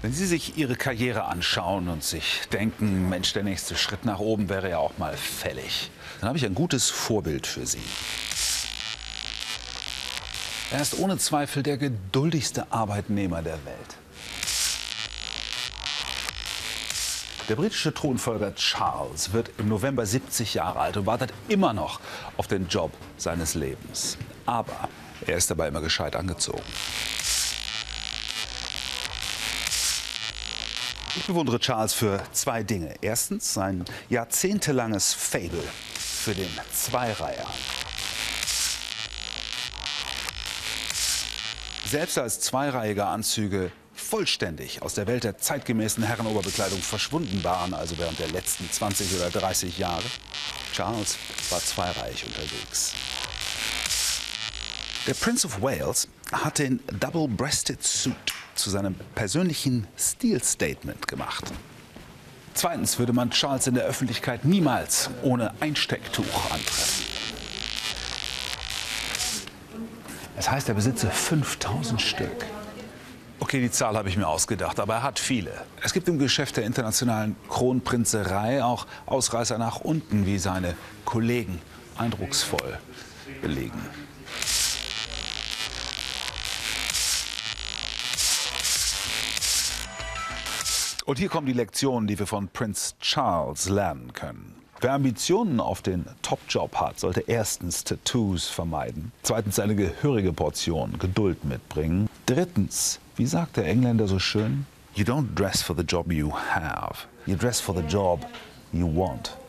Wenn Sie sich Ihre Karriere anschauen und sich denken, Mensch, der nächste Schritt nach oben wäre ja auch mal fällig, dann habe ich ein gutes Vorbild für Sie. Er ist ohne Zweifel der geduldigste Arbeitnehmer der Welt. Der britische Thronfolger Charles wird im November 70 Jahre alt und wartet immer noch auf den Job seines Lebens. Aber er ist dabei immer gescheit angezogen. Ich bewundere Charles für zwei Dinge. Erstens sein jahrzehntelanges Faible für den Zweireiher. Selbst als zweireihiger Anzüge vollständig aus der Welt der zeitgemäßen Herrenoberbekleidung verschwunden waren, also während der letzten 20 oder 30 Jahre. Charles war zweireihig unterwegs. Der Prince of Wales hat den Double-Breasted Suit zu seinem persönlichen Stilstatement gemacht. Zweitens würde man Charles in der Öffentlichkeit niemals ohne Einstecktuch antreffen. Das heißt, er besitze 5000 Stück. Okay, die Zahl habe ich mir ausgedacht, aber er hat viele. Es gibt im Geschäft der internationalen Kronprinzerei auch Ausreißer nach unten, wie seine Kollegen eindrucksvoll belegen. Und hier kommen die Lektionen, die wir von Prinz Charles lernen können. Wer Ambitionen auf den Top-Job hat, sollte erstens Tattoos vermeiden, zweitens eine gehörige Portion Geduld mitbringen, drittens, wie sagt der Engländer so schön, you don't dress for the job you have, you dress for the job you want.